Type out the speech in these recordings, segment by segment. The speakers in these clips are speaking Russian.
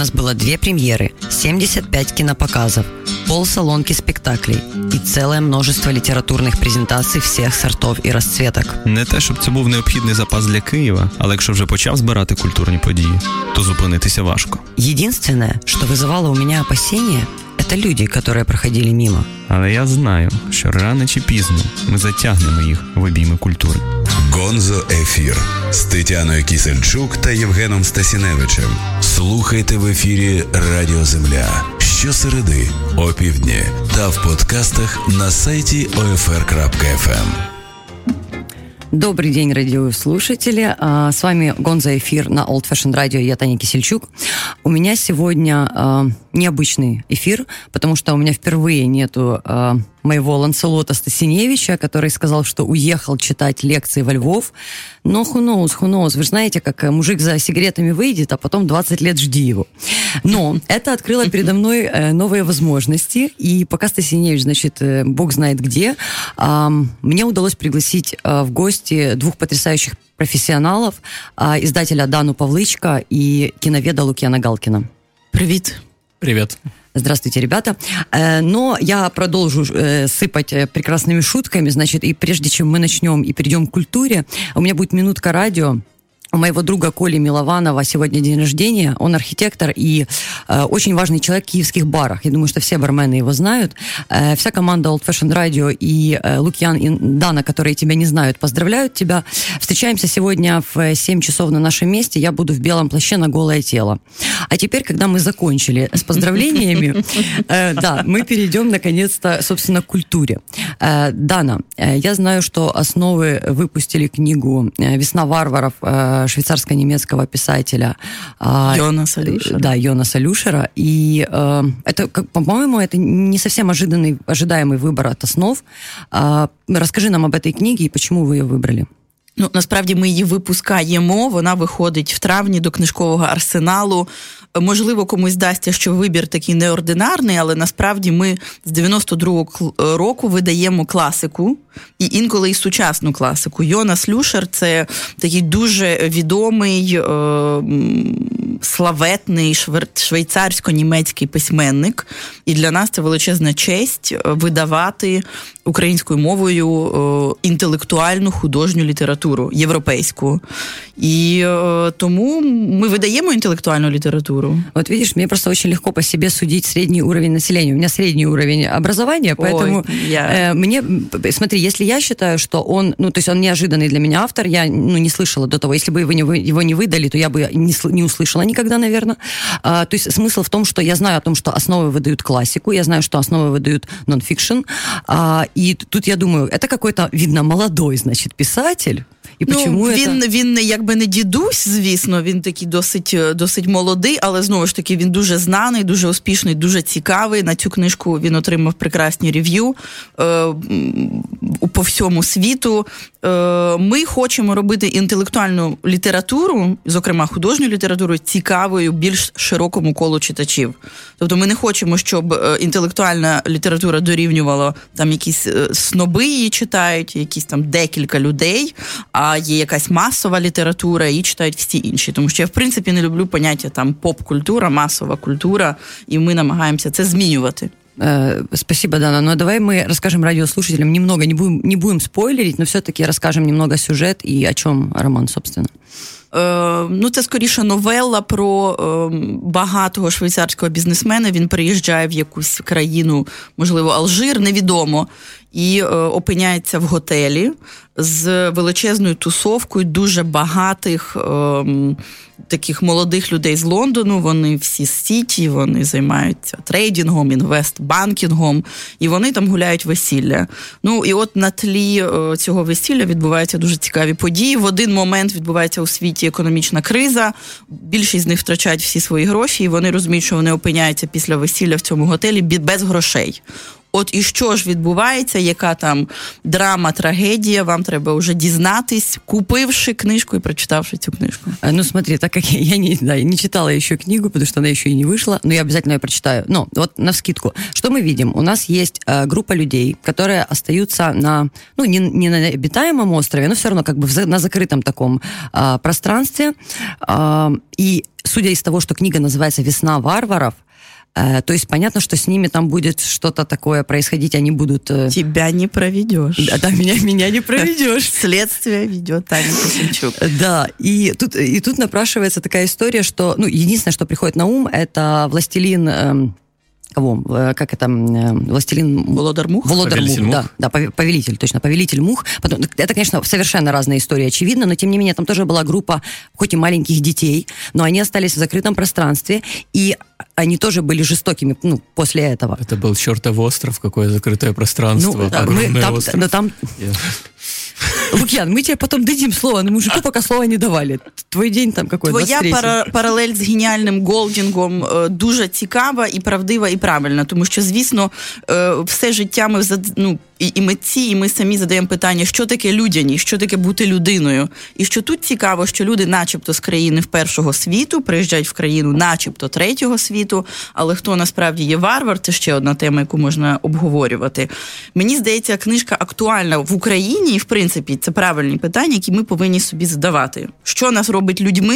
нас было 2 премьеры, 75 кинопоказов, полсалонки спектаклей и целое множество літературних презентацій всіх сортів і розцветок. Не те, щоб це був необхідний запас для Києва, але якщо вже почав збирати культурні події, то зупинитися важко. Единственное, что вызывало у меня опасения, это люди, которые проходили мимо. Але я знаю, що рано чи пізно ми затягнемо їх в обійми культури. Гонзо Ефір з Тетяною Кісельчук та Євгеном Стасіневичем. Слухайте в ефірі Радіо Земля щосереди о півдні та в подкастах на сайті OFR.FM. Добрый день, радиослушатели. С вами Гонзо Эфир на Old Fashion Radio. Я Таня Кисельчук. У меня сегодня необычный эфир, потому что у меня впервые нету моего Ланселота Стасиневича, который сказал, что уехал читать лекции во Львов. Но who knows. Вы же знаете, как мужик за сигаретами выйдет, а потом 20 лет жди его. Но это открыло передо мной новые возможности. И пока Стасиневич, значит, бог знает где, мне удалось пригласить в гости 2 потрясающих профессионалов, издателя Дану Павлычка и киноведа Лукьяна Галкина. Привет. Привет. Здравствуйте, ребята. Но я продолжу сыпать прекрасными шутками, значит, и прежде чем мы начнем и перейдем к культуре, у меня будет минутка радио. У моего друга Коли Милованова сегодня день рождения. Он архитектор и очень важный человек в киевских барах. Я думаю, что все бармены его знают. Вся команда Old Fashion Radio и Лукьян и Дана, которые тебя не знают, поздравляют тебя. Встречаемся сегодня в 7 часов на нашем месте. Я буду в белом плаще на голое тело. А теперь, когда мы закончили с поздравлениями, да, мы перейдем, наконец-то, собственно, к культуре. Дана, я знаю, что «Основы» выпустили книгу «Весна варваров» швейцарско-немецкого писателя Йонаса Люшера. Да, Йонаса Люшера. И это, по-моему, это не совсем ожидаемый выбор от «Основ». Расскажи нам об этой книге и почему вы ее выбрали. Ну, насправді ми її випускаємо, вона виходить в травні до книжкового арсеналу. Можливо, комусь здасться, що вибір такий неординарний, але насправді ми з 92-го року видаємо класику, і інколи і сучасну класику. Йонас Люшер – це такий дуже відомий, славетний швейцарсько-німецький письменник, і для нас це величезна честь видавати українською мовою інтелектуальну художню літературу, європейську. І тому мы выдаем интеллектуальную литературу. Вот видишь, мне просто очень легко по себе судить средний уровень населения. У меня средний уровень образования, поэтому мне... Смотри, если я считаю, что он... Ну, то есть он неожиданный для меня автор, я не слышала до того. Если бы его не выдали, то я бы не услышала никогда, наверное. То есть смысл в том, что я знаю о том, что «Основы» выдают классику, я знаю, что «Основы» выдают нон-фикшн. И тут я думаю, это какой-то, видно, молодой, значит, писатель. І він якби не дідусь, звісно, він такий досить молодий, але знову ж таки він дуже знаний, дуже успішний, дуже цікавий. На цю книжку він отримав прекрасні рев'ю по всьому світу. Ми хочемо робити інтелектуальну літературу, зокрема художню літературу, цікавою більш широкому колу читачів. Тобто ми не хочемо, щоб інтелектуальна література дорівнювала там якісь сноби її читають, якісь там декілька людей, а є якась масова література, і читають всі інші. Тому що я, в принципі, не люблю поняття там поп-культура, масова культура, і ми намагаємося це змінювати. Спасибо, Дана. Но давай мы расскажем радиослушателям немного, не будем спойлерить, но все-таки расскажем немного сюжет и о чем роман, собственно. Ну, це скоріше новелла про багатого швейцарського бізнесмена. Він приїжджає в якусь країну, можливо, Алжир, невідомо, і опиняється в готелі з величезною тусовкою дуже багатих таких молодих людей з Лондону. Вони всі з Сіті, вони займаються трейдингом, інвестбанкінгом, і вони там гуляють весілля. Ну, і от на тлі цього весілля відбуваються дуже цікаві події. В один момент відбувається у світі економічна криза, більшість з них втрачають всі свої гроші, і вони розуміють, що вони опиняються після весілля в цьому готелі без грошей. От і що ж відбувається, яка там драма, трагедія, вам треба вже дізнатись, купивши книжку и прочитавши цю книжку. Ну, смотри, так как я не читала еще книгу, потому что она еще и не вышла, но я обязательно ее прочитаю. Но вот навскидку. Что мы видим? У нас есть группа людей, которые остаются на, ну, не на обитаемом острове, но все равно как бы на закрытом таком пространстве. И судя из того, что книга называется «Весна варваров», то есть понятно, что с ними там будет что-то такое происходить, они будут... Тебя не проведешь. Да, меня не проведешь. Следствие ведет Таня Кисельчук. Да, и тут напрашивается такая история, что, ну, единственное, что приходит на ум, это «Властелин...» Кого? Как это? «Властелин...» Володар Мух? Володар Мух, да, повелитель, точно, повелитель Мух. Потом, это, конечно, совершенно разные истории, очевидно, но, тем не менее, там тоже была группа, хоть и маленьких детей, но они остались в закрытом пространстве, и они тоже были жестокими, ну, после этого. Это был чертов остров, какое закрытое пространство, ну, огромный остров. Но там... Лук'ян, мы тебе потом дадим слово, но мужику пока слова не давали. Твой день там какой? Твоя паралель з геніальним Голдінгом дуже цікава і правдива, і правильна, тому що, звісно, все життя ми, ну, і митці, і ми самі задаємо питання, що таке людяність, що таке бути людиною. І що тут цікаво, що люди начебто з країни першого світу приїжджають в країну начебто третього світу, але хто насправді є варвар, це ще одна тема, яку можна обговорювати. Мені здається, книжка актуальна в Україні, і в принципі це правильні питання, які ми повинні собі задавати. Що нас робить людьми?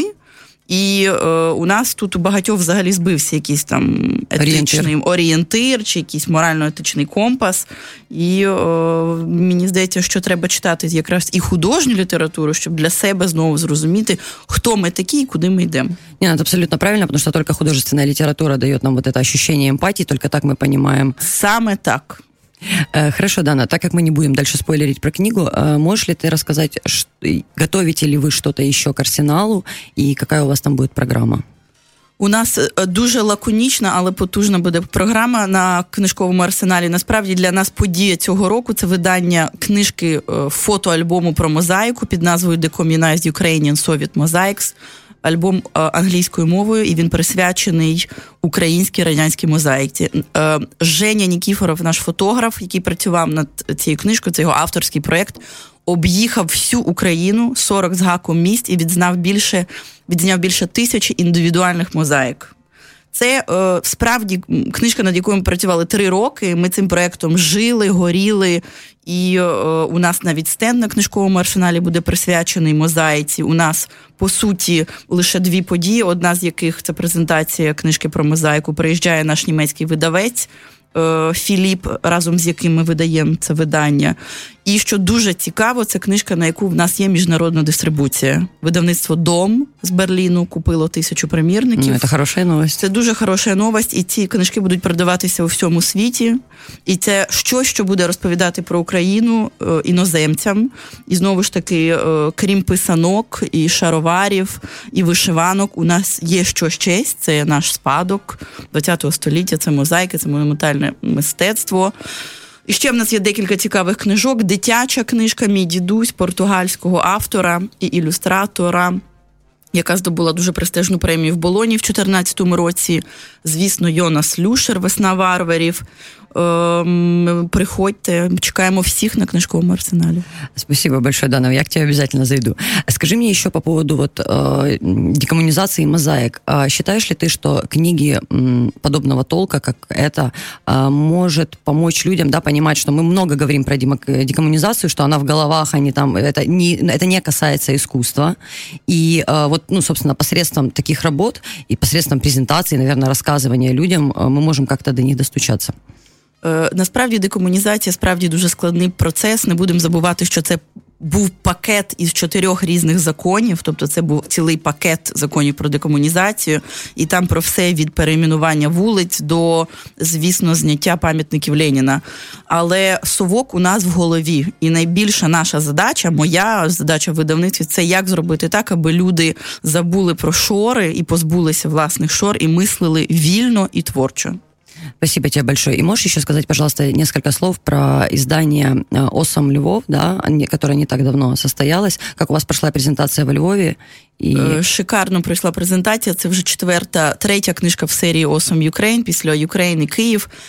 І у нас тут у багатьох взагалі збився якийсь там етичний орієнтир чи якийсь морально-етичний компас. І мені здається, що треба читати якраз і художню літературу, щоб для себе знову зрозуміти, хто ми такі і куди ми йдемо. Нет, это абсолютно правильно, потому что только художественная литература дает нам вот это ощущение эмпатии, только так мы понимаем. Саме так. Хорошо, Дана, так как мы не будем дальше спойлерить про книгу, можешь ли ты рассказать, готовите ли вы что-то еще к арсеналу и какая у вас там будет программа? У нас дуже лаконічна, але потужна буде програма на книжковому арсеналі. Насправді для нас подія цього року – це видання книжки фотоальбому про мозаїку під назвою Decommunized Ukrainian Soviet Mosaics. Альбом англійською мовою, і він присвячений українській радянській мозаїці. Женя Нікіфоров, наш фотограф, який працював над цією книжкою, це його авторський проєкт, об'їхав всю Україну, 40 з гаком міст, і відзняв більше 1000 індивідуальних мозаїк. Це справді книжка, над якою ми працювали 3 роки. Ми цим проєктом жили, горіли, і у нас навіть стенд на книжковому арсеналі буде присвячений мозаїці. У нас, по суті, лише 2 події, одна з яких – це презентація книжки про мозаїку. Приїжджає наш німецький видавець Філіп, разом з яким ми видаємо це видання. І що дуже цікаво, це книжка, на яку в нас є міжнародна дистрибуція. Видавництво «Дом» з Берліну купило 1000 примірників. Це хороша новость. Це дуже хороша новость, і ці книжки будуть продаватися у всьому світі. І це щось, що буде розповідати про Україну іноземцям. І знову ж таки, крім писанок, і шароварів, і вишиванок, у нас є що ще, це наш спадок ХХ століття, це мозаїки, це монументальне мистецтво. І ще в нас є декілька цікавих книжок. Дитяча книжка «Мій дідусь» португальського автора і ілюстратора, яка здобула дуже престижну премію в Болоні в 2014 році. Звісно, Йонас Люшер «Весна варварів». Приходьте, чекаємо всех на книжковом арсенале. Спасибо большое, Дана, я к тебе обязательно зайду. Скажи мне еще по поводу вот декоммунизации мозаик. Считаешь ли ты, что книги подобного толка, как это, может помочь людям, да, понимать, что мы много говорим про декоммунизацию, что она в головах, они там, это не касается искусства, и вот, ну, собственно, посредством таких работ и посредством презентации, наверное, рассказывания людям мы можем как-то до них достучаться? Насправді декомунізація справді дуже складний процес. Не будемо забувати, що це був пакет із 4 різних законів, тобто це був цілий пакет законів про декомунізацію, і там про все від перейменування вулиць до, звісно, зняття пам'ятників Леніна. Але совок у нас в голові, і найбільша наша задача, моя задача в видавництві, це як зробити так, аби люди забули про шори і позбулися власних шор, і мислили вільно і творчо. Спасибо тебе большое. И можешь еще сказать, пожалуйста, несколько слов про издание «Осом Львов», да, которое не так давно состоялось. Как у вас прошла презентация во Львові? Шикарно пройшла презентація. Це вже 3-я книжка в серії «Осом Ukraine», після «Ukraine» і «Київ».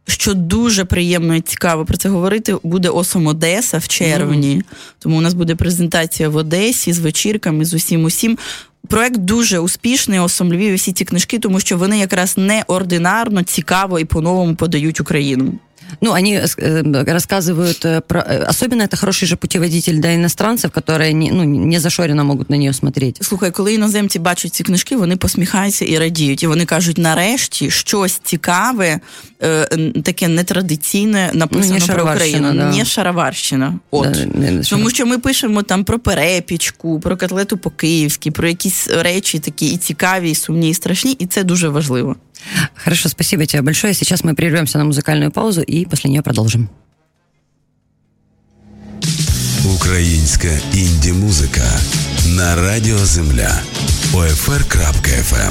що дуже приємно і цікаво про це говорити, буде Осом Одеса в червні. Тому у нас буде презентація в Одесі з вечірками, з усім. Проект дуже успішний, Осом Львів і всі ці книжки, тому що вони якраз неординарно, цікаво і по-новому подають Україну. Ну, они рассказывают про... Особенно это хороший же путеводитель для иностранцев, которые не зашоренно могут на нее смотреть. Слухай, коли іноземці бачать ці книжки, вони посміхаються і радіють. І вони кажуть, нарешті, щось цікаве, таке нетрадиційне написано про Україну. Да. Не шароварщина. От. Да, тому що ми пишемо там про перепічку, про котлету по-київськи, про якісь речі такі і цікаві, і сумні, і страшні, і це дуже важливо. Хорошо, спасибо тебе большое. Сейчас мы прервемся на музыкальную паузу и после нее продолжим. Українська інді-музика на Радіо Земля. OFR.FM.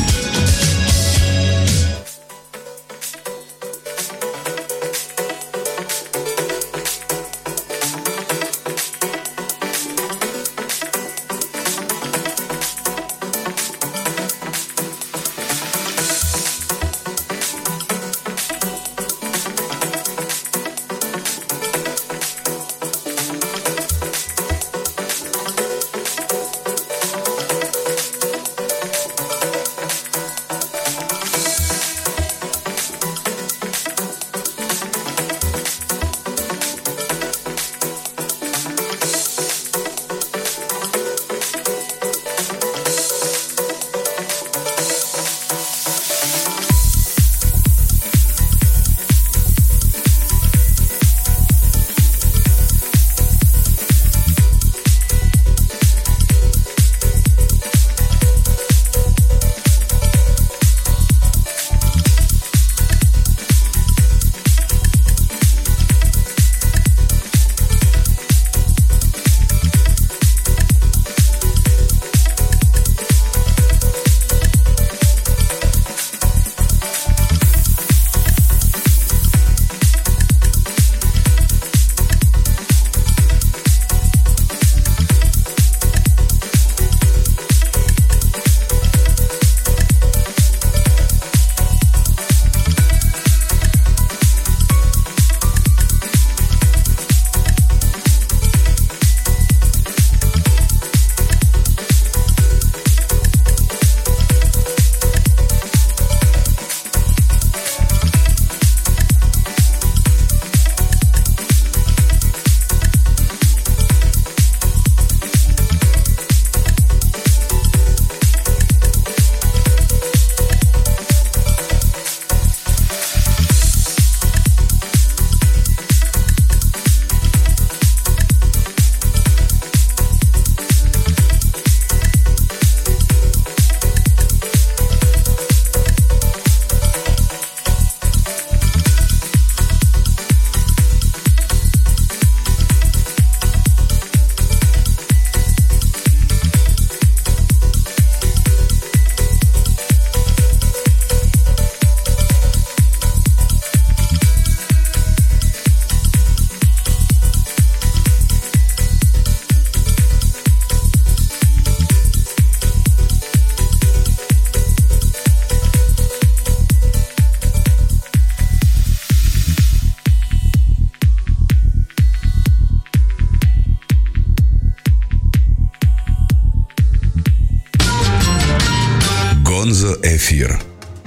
Гонзо-эфир.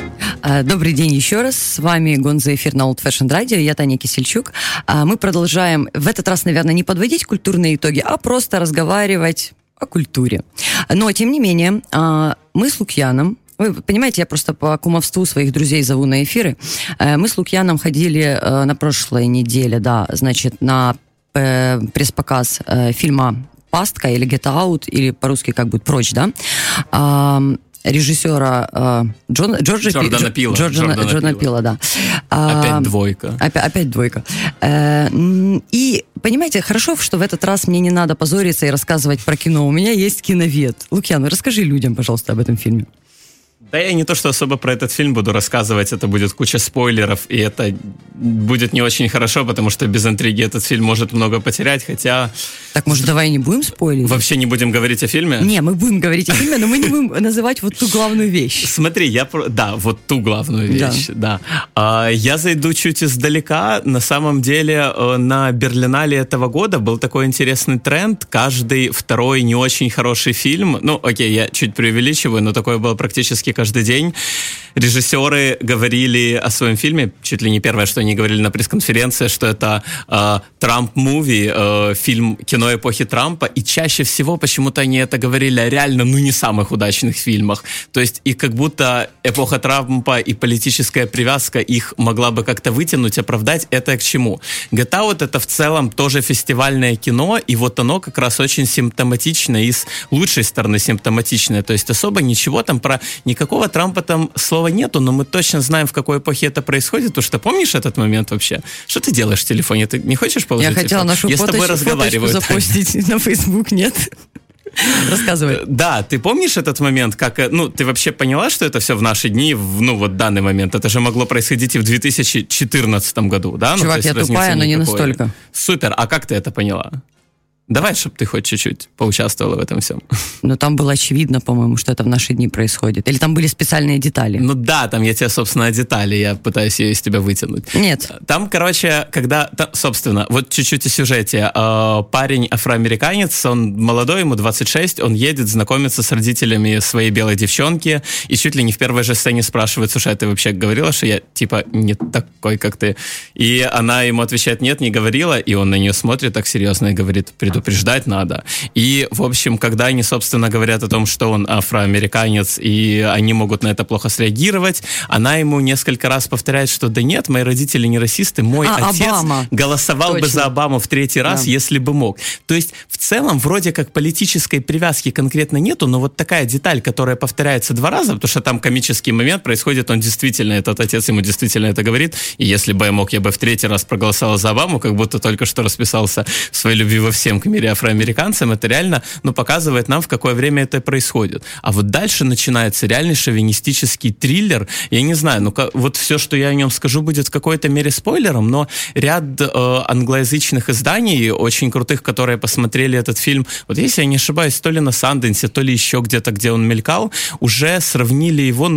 Добрый день еще раз. С вами Гонзо-эфир на Old Fashioned Radio. Я Таня Кисельчук. Мы продолжаем, в этот раз, наверное, не подводить культурные итоги, а просто разговаривать о культуре. Но, тем не менее, мы с Лукьяном, вы понимаете, я просто по кумовству своих друзей зову на эфиры. Мы с Лукьяном ходили на прошлой неделе, да, значит, на пресс-показ фильма «Пастка» или «Get Out», или по-русски как будет «Прочь», да, режиссера Джордана Пила, да. Опять двойка. Опять двойка. И, понимаете, хорошо, что в этот раз мне не надо позориться и рассказывать про кино. У меня есть киновед. Лукьян, расскажи людям, пожалуйста, об этом фильме. Да я не то, что особо про этот фильм буду рассказывать, это будет куча спойлеров, и это будет не очень хорошо, потому что без интриги этот фильм может много потерять, хотя... Так, может, давай не будем спойлерить? Вообще не будем говорить о фильме? Не, мы будем говорить о фильме, но мы не будем называть вот ту главную вещь. Смотри, да, вот ту главную вещь, да. Я зайду чуть издалека. На самом деле, на Берлинале этого года был такой интересный тренд. Каждый второй не очень хороший фильм, ну, окей, я чуть преувеличиваю, но такое было практически каждый день. Режиссеры говорили о своем фильме, чуть ли не первое, что они говорили на пресс-конференции, что это Трамп-муви, фильм, кино эпохи Трампа, и чаще всего почему-то они это говорили о реально, не самых удачных фильмах. То есть и как будто эпоха Трампа и политическая привязка их могла бы как-то вытянуть, оправдать. Это к чему? Get Out — это в целом тоже фестивальное кино, и вот оно как раз очень симптоматичное, и с лучшей стороны симптоматичное. То есть особо ничего там про никакого Трампа там слова нету, но мы точно знаем, в какой эпохе это происходит, потому что помнишь этот момент вообще? Что ты делаешь в телефоне? Ты не хочешь положить телефон? Я хотела нашу фоточку запостить на Facebook, нет? Рассказывай. Да, ты помнишь этот момент, как, ты вообще поняла, что это все в наши дни, в данный момент? Это же могло происходить и в 2014 году, да? Чувак, я тупая, но не настолько. Супер, а как ты это поняла? Давай, чтобы ты хоть чуть-чуть поучаствовала в этом всем. Но там было очевидно, по-моему, что это в наши дни происходит. Или там были специальные детали? Ну да, там я тебе, собственно, о детали, я пытаюсь ее из тебя вытянуть. Нет. Там, короче, собственно, вот чуть-чуть о сюжете. Парень афроамериканец, он молодой, ему 26, он едет знакомиться с родителями своей белой девчонки, и чуть ли не в первой же сцене спрашивает: слушай, а ты вообще говорила, что я, типа, не такой, как ты? И она ему отвечает: нет, не говорила, и он на нее смотрит так серьезно и говорит: предупреждать надо. И, в общем, когда они, собственно, говорят о том, что он афроамериканец, и они могут на это плохо среагировать, она ему несколько раз повторяет, что да нет, мои родители не расисты, мой отец Обама. Голосовал бы за Обаму в 3-й раз, если бы мог. То есть, в целом, вроде как политической привязки конкретно нету, но вот такая деталь, которая повторяется 2 раза, потому что там комический момент происходит, он действительно, этот отец ему действительно это говорит, и если бы я мог, я бы в 3-й раз проголосовал за Обаму, как будто только что расписался в своей любви во всем к мире афроамериканцам, это реально, показывает нам, в какое время это происходит. А вот дальше начинается реальный шовинистический триллер. Я не знаю, вот все, что я о нем скажу, будет в какой-то мере спойлером, но ряд англоязычных изданий, очень крутых, которые посмотрели этот фильм, вот если я не ошибаюсь, то ли на Санденсе, то ли еще где-то, где он мелькал, уже сравнили его,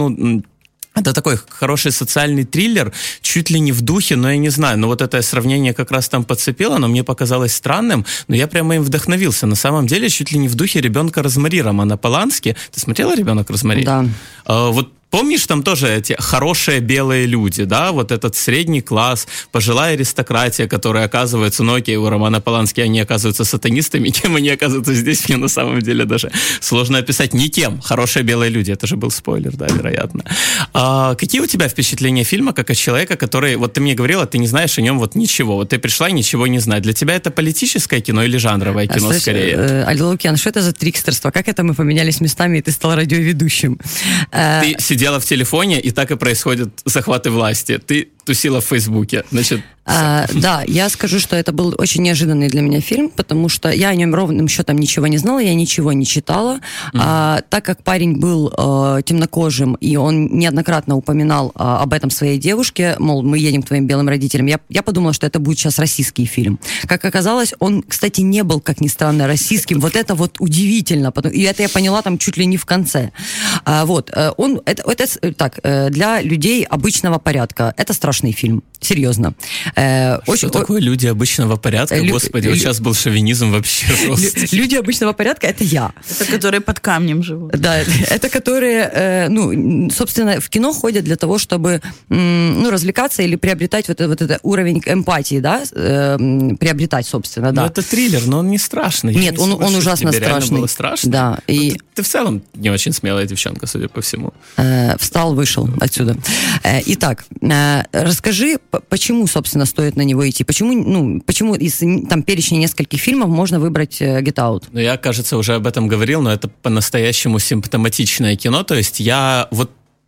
это такой хороший социальный триллер, чуть ли не в духе, но я не знаю, вот это сравнение как раз там подцепило, но мне показалось странным, но я прямо им вдохновился. На самом деле, чуть ли не в духе «Ребенка Розмари» Романа Полански. Ты смотрела «Ребенок Розмари»? Да. Вот помнишь, там тоже эти хорошие белые люди, да, вот этот средний класс, пожилая аристократия, которая оказывается, окей, у Романа Полански они оказываются сатанистами, кем они оказываются здесь, мне на самом деле даже сложно описать, никем, хорошие белые люди, это же был спойлер, да, вероятно. Какие у тебя впечатления фильма, как о человека, который, вот ты мне говорила, ты не знаешь о нем вот ничего, вот ты пришла и ничего не знаешь, для тебя это политическое кино или жанровое кино скорее? Алло, Лукьян, что это за трикстерство, как это мы поменялись местами, и ты стал радиоведущим? Ты сидела в телефоне, и так и происходят захваты власти. Ты тусила в Фейсбуке, значит... Да, я скажу, что это был очень неожиданный для меня фильм, потому что я о нем ровным счетом ничего не знала, я ничего не читала. Так как парень был темнокожим, и он неоднократно упоминал об этом своей девушке, мол, мы едем к твоим белым родителям, я подумала, что это будет сейчас российский фильм. Как оказалось, он, кстати, не был, как ни странно, российским. Вот это вот удивительно. И это я поняла там чуть ли не в конце. Для людей обычного порядка это страшный фильм. Серьезно. Что такое люди обычного порядка? Господи, вот сейчас был шовинизм вообще жесткий. Люди обычного порядка — это я. Это которые под камнем живут. Да, это которые, собственно, в кино ходят для того, чтобы, развлекаться или приобретать вот этот уровень эмпатии, да, приобретать, собственно, да. Но это триллер, но он не страшный. Нет, он ужасно страшный. Реально было страшно? Да. И... Ты в целом не очень смелая девчонка, судя по всему. Встал, вышел отсюда. Итак, расскажи, почему, собственно, стоит на него идти? Почему из там перечня нескольких фильмов можно выбрать Get Out? Я, кажется, уже об этом говорил, но это по-настоящему симптоматичное кино. То есть я вот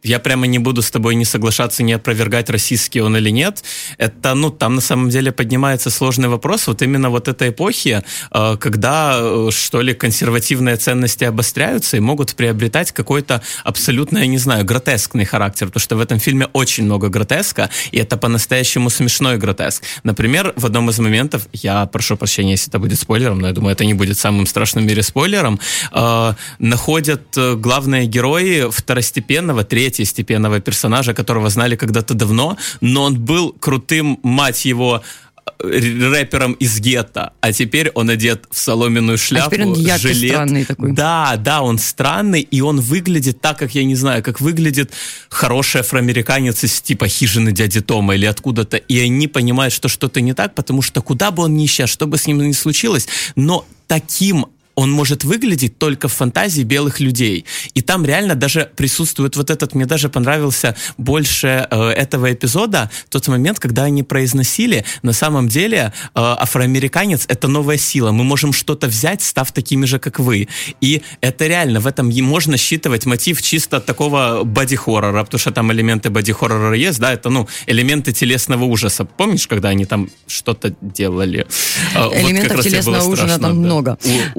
я прямо не буду с тобой не соглашаться, не опровергать, российский он или нет. Это, ну, там на самом деле поднимается сложный вопрос вот именно вот этой эпохи, когда, что ли, консервативные ценности обостряются и могут приобретать какой-то абсолютно, я не знаю, гротескный характер, потому что в этом фильме очень много гротеска, и это по-настоящему смешной гротеск. Например, в одном из моментов, я прошу прощения, если это будет спойлером, но я думаю, это не будет самым страшным в мире спойлером, находят главные герои второстепенного, третьестепенного персонажа, которого знали когда-то давно, но он был крутым, мать его, рэпером из гетто, а теперь он одет в соломенную шляпу, теперь он жилет. Странный такой. Да, он странный, и он выглядит так, как, я не знаю, как выглядит хороший афроамериканец из типа «Хижины дяди Тома» или откуда-то, и они понимают, что что-то не так, потому что куда бы он ни исчез, что бы с ним ни случилось, но таким он может выглядеть только в фантазии белых людей. И там реально даже присутствует вот этот, мне даже понравился больше этого эпизода, тот момент, когда они произносили, на самом деле афроамериканец — это новая сила, мы можем что-то взять, став такими же, как вы. И это реально, в этом можно считывать мотив чисто такого боди-хоррора, потому что там элементы боди-хоррора есть, да, это, ну, элементы телесного ужаса. Помнишь, когда они там что-то делали? Элементов вот телесного ужаса там много.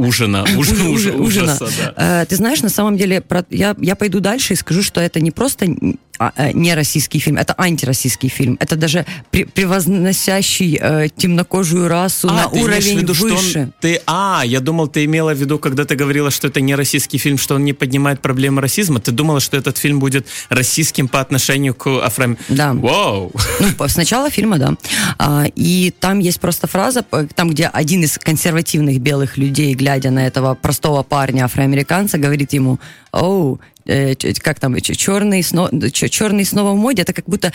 Ужаса, да. Ты знаешь, на самом деле, я пойду дальше и скажу, что это не просто не российский фильм, это антироссийский фильм. Это даже превозносящий темнокожую расу на уровень виду, выше. Я думал, ты имела в виду, когда ты говорила, что это не российский фильм, что он не поднимает проблемы расизма. Ты думала, что этот фильм будет российским по отношению к Да. Вау! Ну, с начала фильма, да. И там есть просто фраза, там, где один из консервативных белых людей, глядя на этого простого парня, афроамериканца, говорит ему: «Оу, как там, черный снова в моде», это как будто...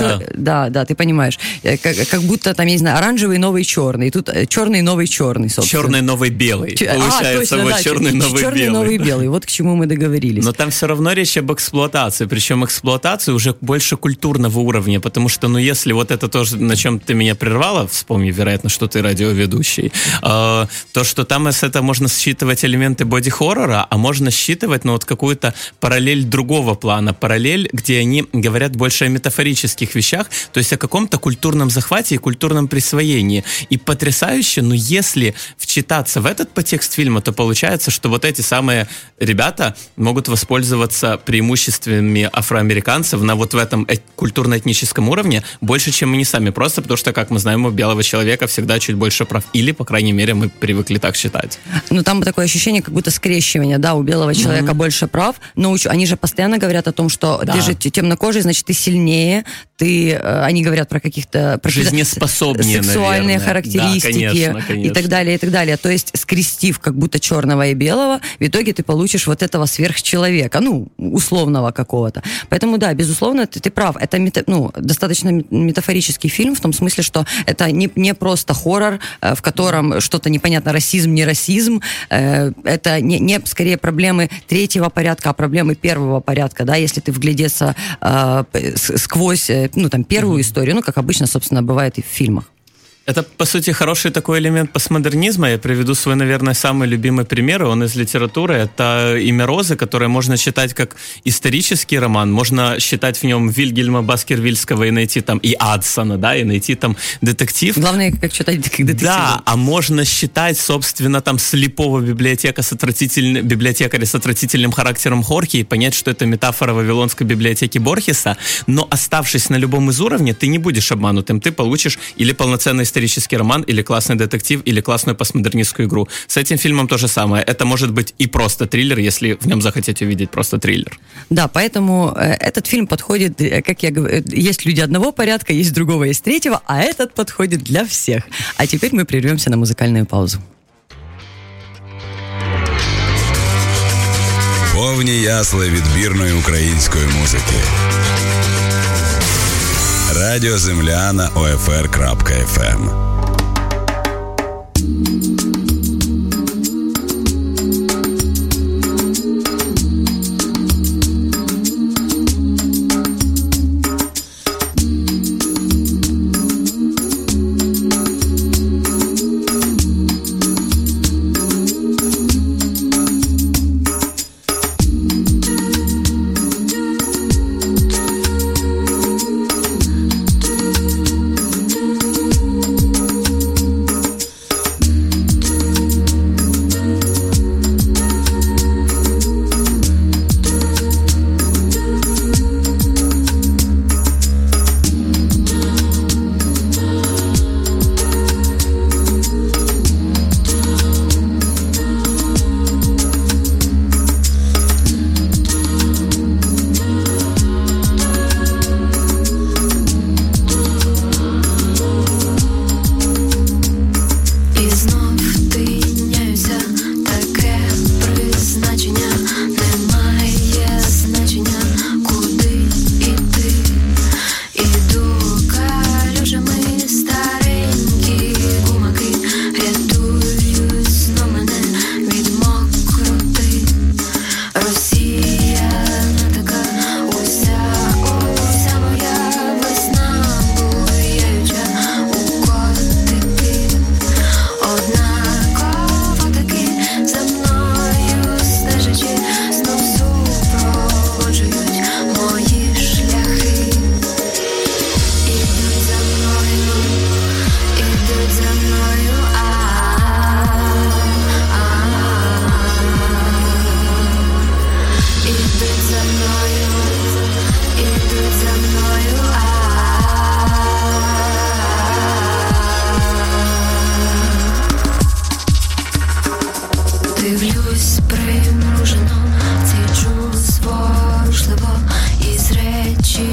Да, ты понимаешь. Как будто там, я не знаю, оранжевый новый черный, и тут черный новый черный, собственно. Черный новый белый. Получается, точно, вот да, черный новый белый. Черный новый белый, вот к чему мы договорились. Но там все равно речь об эксплуатации, причем эксплуатации уже больше культурного уровня, потому что, ну, если вот это тоже, на чем ты меня прервала, вспомни, вероятно, что ты радиоведущий, то, что там с этого можно считывать элементы боди-хоррора, а можно считывать, ну, вот какую-то параллель другого плана, параллель, где они говорят больше о метафорических вещах, то есть о каком-то культурном захвате и культурном присвоении. И потрясающе, но если вчитаться в этот подтекст фильма, то получается, что вот эти самые ребята могут воспользоваться преимуществами афроамериканцев на вот в этом культурно-этническом уровне больше, чем они сами, просто потому что, как мы знаем, у белого человека всегда чуть больше прав, или, по крайней мере, мы привыкли так считать. Ну, там такое ощущение, как будто скрещивание, да, у белого человека больше прав, но они же постоянно говорят о том, что ты же темнокожий, значит, ты сильнее, они говорят про каких-то жизнеспособнее, сексуальные наверное. характеристики, да, конечно. и так далее, и так далее. То есть, скрестив как будто черного и белого, в итоге ты получишь вот этого сверхчеловека, ну, условного какого-то. Поэтому, да, безусловно, ты прав. Это достаточно метафорический фильм, в том смысле, что это не просто хоррор, в котором что-то непонятно, расизм, не расизм. Это не скорее проблемы третьего порядка, а проблемы первого порядка, да, если ты вглядеться сквозь, первую историю, как обычно, собственно, бывает и в фильмах. Это, по сути, хороший такой элемент постмодернизма. Я приведу свой, наверное, самый любимый пример. Он из литературы. Это «Имя Розы», которое можно читать как исторический роман. Можно считать в нем Вильгельма Баскервильского и найти там и Адсона, да, и найти там детектив. Главное, как читать как детектив. Да, а можно считать, собственно, там слепого библиотекаря с отвратительным характером Хорхе и понять, что это метафора Вавилонской библиотеки Борхеса. Но оставшись на любом из уровней, ты не будешь обманутым. Ты получишь или полноценный исторический роман, или классный детектив, или классную постмодернистскую игру. С этим фильмом то же самое. Это может быть и просто триллер, если в нем захотите увидеть просто триллер. Да, поэтому этот фильм подходит, как я говорю, есть люди одного порядка, есть другого, есть третьего, а этот подходит для всех. А теперь мы прервемся на музыкальную паузу. Повні ясли відбірної української музики. Радіо Земля на OFR.FM.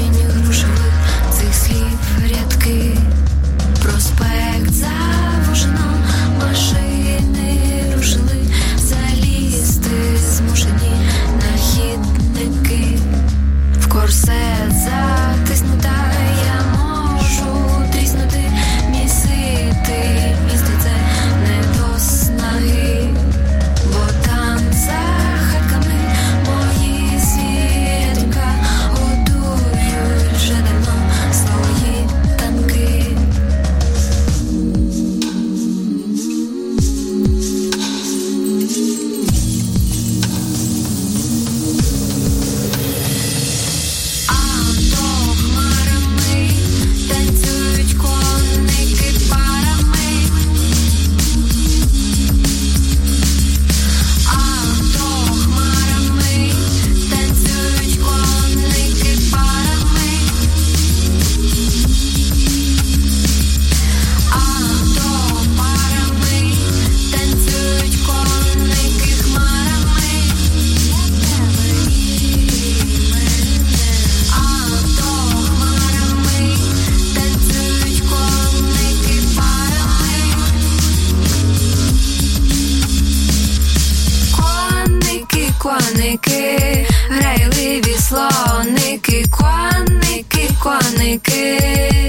осінніх грушевих цих слів рядки. Проспект завужено, машини рушили, залізти змушені на хідники. В корсет затиснута, я можу тріснути, місити місто це не до снаги, бо там за хатками мої звірятка годують вже давно свої танки. Коники, грайливі слоники, коники, коники.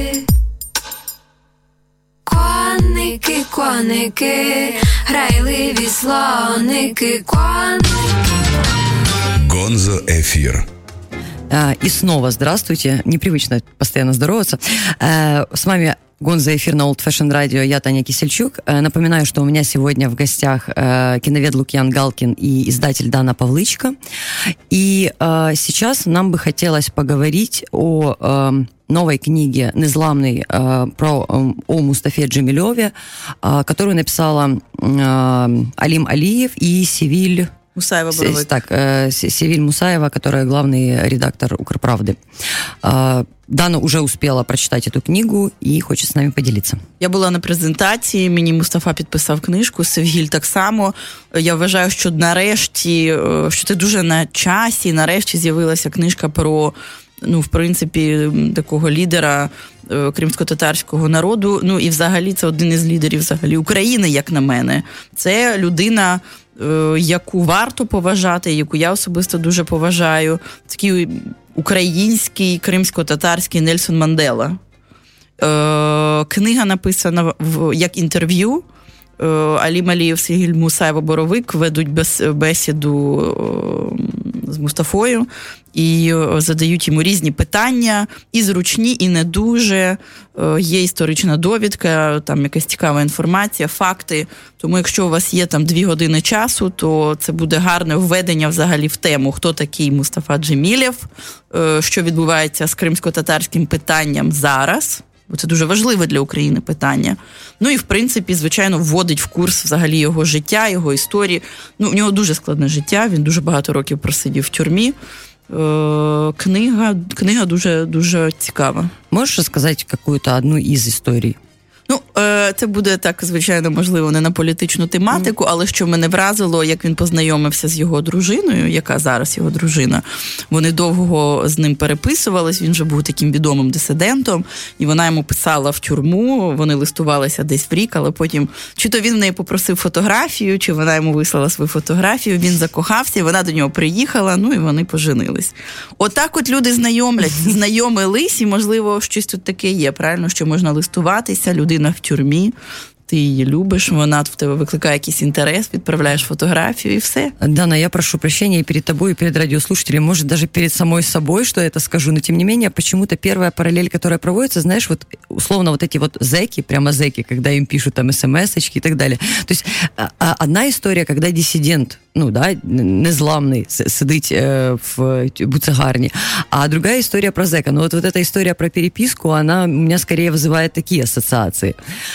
Коники, коники, грайливі слоники, коники. Гонзо Эфир. И снова здравствуйте. Непривычно постоянно здороваться. С вами Гонзо Эфир на Old Fashion Radio. Я Таня Кисельчук. Напоминаю, что у меня сегодня в гостях киновед Лукьян Галкин и издатель Дана Павлычко. И сейчас нам бы хотелось поговорить о новой книге «Незламный» о Мустафе Джемилеве, которую написала Алим Алиев и Севиль Мусаева-Боровик. Так, Севиль Мусаева, которая главный редактор «Укрправды». Дана уже успела прочитать эту книгу і хоче з нами поділитися. Я була на презентації, мені Мустафа підписав книжку, Севгіль так само. Я вважаю, що нарешті, що це дуже на часі, нарешті з'явилася книжка про, в принципі, такого лідера кримсько-татарського народу. І взагалі це один із лідерів взагалі України, як на мене. Це людина, яку варто поважати, яку я особисто дуже поважаю. Такий український, кримсько-татарський Нельсон Мандела. Книга написана як інтерв'ю. Алім Алієв, Севгіль Мусаєва-Боровик ведуть бесіду з Мустафою і задають йому різні питання, і зручні, і не дуже. Є історична довідка, там якась цікава інформація, факти. Тому якщо у вас є там 2 години часу, то це буде гарне введення взагалі в тему, хто такий Мустафа Джемілєв, що відбувається з кримсько-татарським питанням зараз. Бо це дуже важливе для України питання. І, в принципі, звичайно, вводить в курс взагалі його життя, його історії. У нього дуже складне життя, він дуже багато років просидів в тюрмі. Книга дуже, дуже цікава. Можеш розказати якусь одну із історій? Це буде так, звичайно, можливо, не на політичну тематику, але що мене вразило, як він познайомився з його дружиною, яка зараз його дружина. Вони довго з ним переписувались, він вже був таким відомим дисидентом, і вона йому писала в тюрму, вони листувалися десь в рік, але потім, чи то він в неї попросив фотографію, чи вона йому вислала свою фотографію, він закохався, і вона до нього приїхала, і вони поженились. Отак от люди знайомились, і, можливо, щось тут таке є, правильно, що можна листуватися, людина в тюрмі, ти її любиш, вона в тебе викликає якийсь інтерес, відправляєш фотографію і все. Дана, я прошу прощения и перед тобой, и перед радиослушателями, может, даже перед самой собой, что я это скажу, но тем не менее, почему-то первая параллель, которая проводится, знаешь, вот условно вот эти вот зэки, прямо зэки, когда им пишут там смс-очки и так далее. То есть одна история, когда диссидент, незламний, сидить в буцегарні, а другая история про зэка. Но вот эта история про переписку, она у меня скорее вызывает такие ассоциации.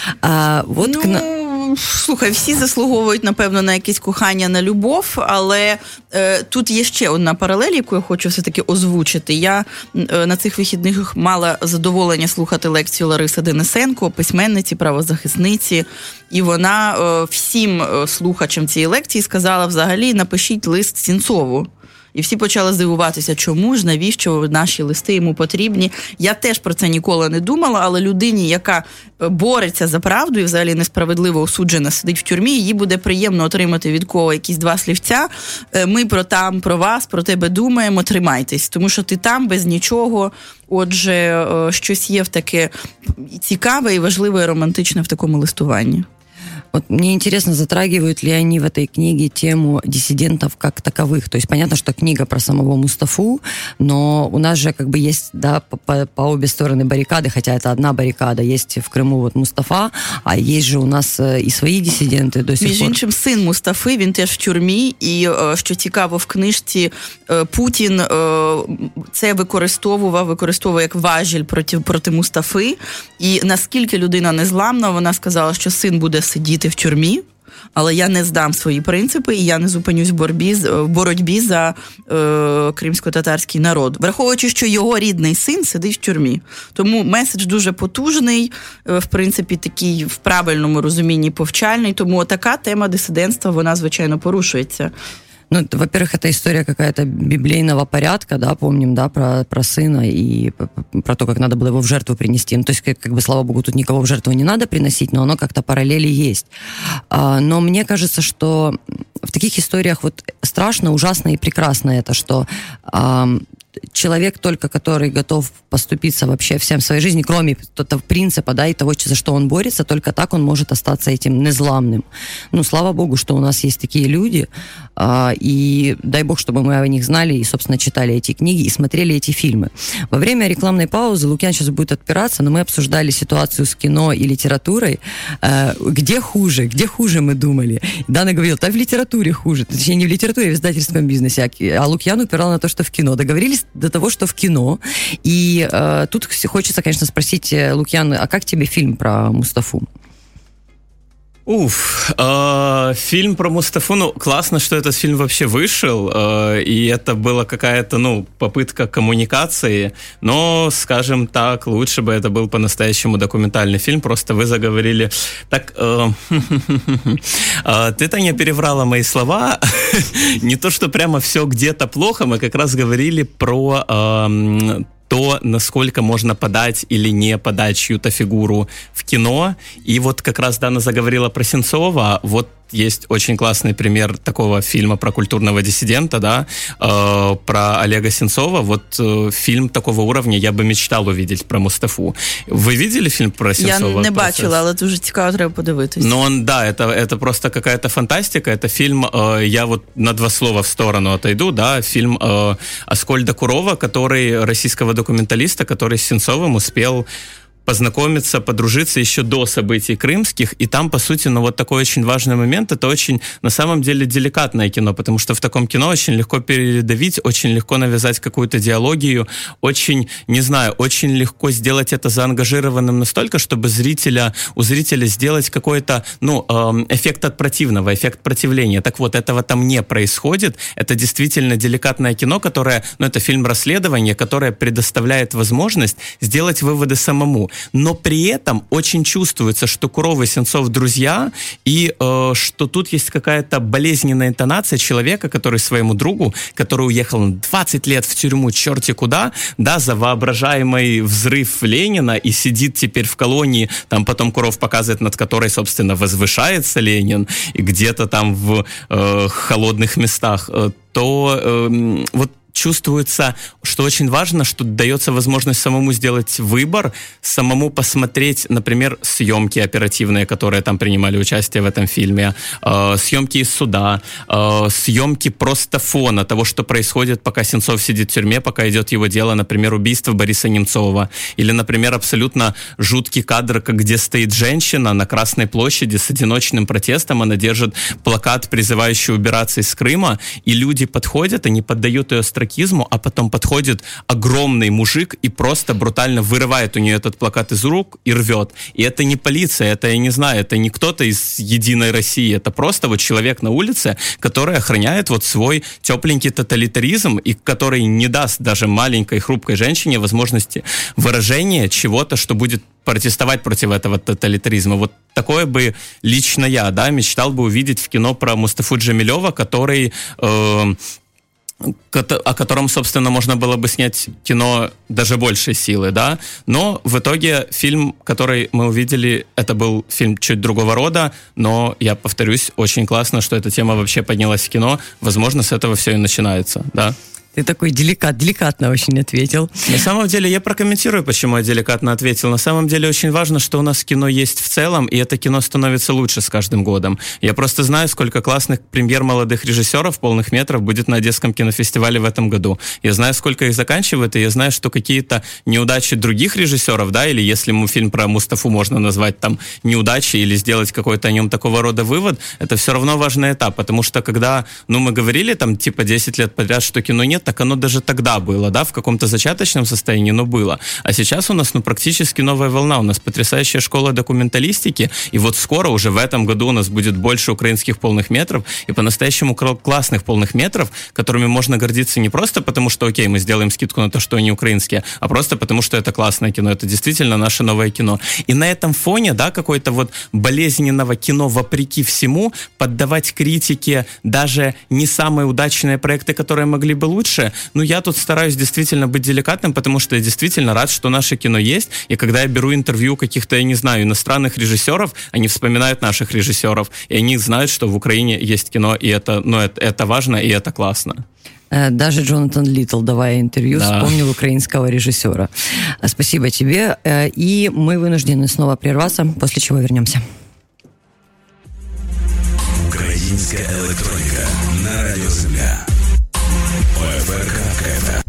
Слухай, всі заслуговують, напевно, на якесь кохання, на любов, але тут є ще одна паралель, яку я хочу все-таки озвучити. Я на цих вихідних мала задоволення слухати лекцію Лариси Денисенко, письменниці, правозахисниці, і вона всім слухачам цієї лекції сказала взагалі, напишіть лист Сінцову. І всі почали здивуватися, чому ж, навіщо наші листи йому потрібні. Я теж про це ніколи не думала, але людині, яка бореться за правду і взагалі несправедливо осуджена, сидить в тюрмі, їй буде приємно отримати від кого якісь 2 слівця. Ми про вас, про тебе думаємо, тримайтесь. Тому що ти там без нічого. Отже, щось є в таке цікаве і важливе і романтичне в такому листуванні. Вот мне интересно, затрагивают ли они в этой книге тему диссидентов как таковых. То есть понятно, что книга про самого Мустафу, но у нас же как бы есть, да, по обе стороны баррикады, хотя это одна баррикада. Есть в Крыму вот Мустафа, а есть же у нас и свои диссиденты до сих пор. Між іншим, син Мустафи, він теж в тюрмі, і, що цікаво, в книжці Путін це використовує як важіль проти Мустафи, і наскільки людина незламна, вона сказала, що син буде сидіти в тюрмі, але я не здам свої принципи, і я не зупинюсь в боротьбі за кримсько-татарський народ. Враховуючи, що його рідний син сидить в тюрмі. Тому меседж дуже потужний, в принципі, такий в правильному розумінні повчальний, тому така тема дисидентства, вона, звичайно, порушується. Ну, во-первых, это история какая-то библейного порядка, да, помним, да, про сына и про то, как надо было его в жертву принести. Ну, то есть, как бы, слава богу, тут никого в жертву не надо приносить, но оно как-то параллели есть. Но мне кажется, что в таких историях вот страшно, ужасно и прекрасно это, что человек только, который готов поступиться вообще всем в своей жизни, кроме того принципа, да, и того, за что он борется, только так он может остаться этим незламным. Ну, слава богу, что у нас есть такие люди, и дай бог, чтобы мы о них знали и, собственно, читали эти книги и смотрели эти фильмы. Во время рекламной паузы Лукьян сейчас будет отпираться, но мы обсуждали ситуацию с кино и литературой. Где хуже мы думали? Дана говорила, да в литературе хуже. Точнее, не в литературе, а в издательском бизнесе. А Лукьян упирал на то, что в кино. Договорились до того, что в кино. И тут хочется, конечно, спросить, Лукьян, а как тебе фильм про Мустафу? Фильм про Мустафу, ну, классно, что этот фильм вообще вышел, и это была какая-то, ну, попытка коммуникации, но, скажем так, лучше бы это был по-настоящему документальный фильм, просто вы заговорили так... Ты-то не переврала мои слова, не то, что прямо все где-то плохо, мы как раз говорили про... то, насколько можно подать или не подать чью-то фигуру в кино. И вот как раз Дана заговорила про Сенцова. Вот есть очень классный пример такого фильма про культурного диссидента, да, про Олега Сенцова. Вот фильм такого уровня я бы мечтал увидеть про Мустафу. Ви видели фильм про Сенцова? Я не бачила, але дуже цікаво, треба подивитись. Ну, это просто какая-то фантастика. Это фильм, я вот на 2 слова в сторону отойду, да, фильм Аскольда Курова, российского документалиста, который с Сенцовым успел познакомиться, подружиться еще до событий крымских, и там, по сути, ну, вот такой очень важный момент, это очень, на самом деле, деликатное кино, потому что в таком кино очень легко передавить, очень легко навязать какую-то диалогию, очень, не знаю, очень легко сделать это заангажированным настолько, чтобы у зрителя сделать какой-то, ну, эффект от противного, эффект противления. Так вот, этого там не происходит, это действительно деликатное кино, которое, ну, это фильм расследования, которое предоставляет возможность сделать выводы самому. Но при этом очень чувствуется, что Куров и Сенцов друзья, и что тут есть какая-то болезненная интонация человека, который своему другу, который уехал на 20 лет в тюрьму черти куда, да, за воображаемый взрыв Ленина, и сидит теперь в колонии, там потом Куров показывает, над которой, собственно, возвышается Ленин, и где-то там в холодных местах, то вот чувствуется, что очень важно, что дается возможность самому сделать выбор, самому посмотреть, например, съемки оперативные, которые там принимали участие в этом фильме, съемки из суда, съемки просто фона того, что происходит, пока Сенцов сидит в тюрьме, пока идет его дело, например, убийство Бориса Немцова, или, например, абсолютно жуткий кадр, где стоит женщина на Красной площади с одиночным протестом, она держит плакат, призывающий убираться из Крыма, и люди подходят, они поддают ее тракизму, а потом подходит огромный мужик и просто брутально вырывает у нее этот плакат из рук и рвет. И это не полиция, это, я не знаю, это не кто-то из Единой России, это просто вот человек на улице, который охраняет вот свой тепленький тоталитаризм и который не даст даже маленькой хрупкой женщине возможности выражения чего-то, что будет протестовать против этого тоталитаризма. Вот такое бы лично я, да, мечтал бы увидеть в кино про Мустафу Джамилёва, который о котором, собственно, можно было бы снять кино даже большей силы, да, но в итоге фильм, который мы увидели, это был фильм чуть другого рода, но, я повторюсь, очень классно, что эта тема вообще поднялась в кино, возможно, с этого все и начинается, да. Ты такой деликатно очень ответил. На самом деле, я прокомментирую, почему я деликатно ответил. На самом деле, очень важно, что у нас кино есть в целом, и это кино становится лучше с каждым годом. Я просто знаю, сколько классных премьер молодых режиссеров полных метров будет на Одесском кинофестивале в этом году. Я знаю, сколько их заканчивает, и я знаю, что какие-то неудачи других режиссеров, да, или если фильм про Мустафу можно назвать там неудачей, или сделать какой-то о нем такого рода вывод, это все равно важный этап, потому что когда, мы говорили там типа 10 лет подряд, что кино нет, так оно даже тогда было, да, в каком-то зачаточном состоянии, но было. А сейчас у нас, практически новая волна, у нас потрясающая школа документалистики, и вот скоро, уже в этом году у нас будет больше украинских полных метров, и по-настоящему классных полных метров, которыми можно гордиться не просто потому, что, окей, мы сделаем скидку на то, что они украинские, а просто потому, что это классное кино, это действительно наше новое кино. И на этом фоне, да, какой-то вот болезненного кино вопреки всему, поддавать критике даже не самые удачные проекты, которые могли бы лучше, я тут стараюсь действительно быть деликатным, потому что я действительно рад, что наше кино есть, и когда я беру интервью каких-то, я не знаю, иностранных режиссеров, они вспоминают наших режиссеров, и они знают, что в Украине есть кино, и это важно, и это классно. Даже Джонатан Литтл, давая интервью, вспомнил украинского режиссера. Спасибо тебе, и мы вынуждены снова прерваться, после чего вернемся. Українська електроніка на Радіо Земля. ОФР.КФ.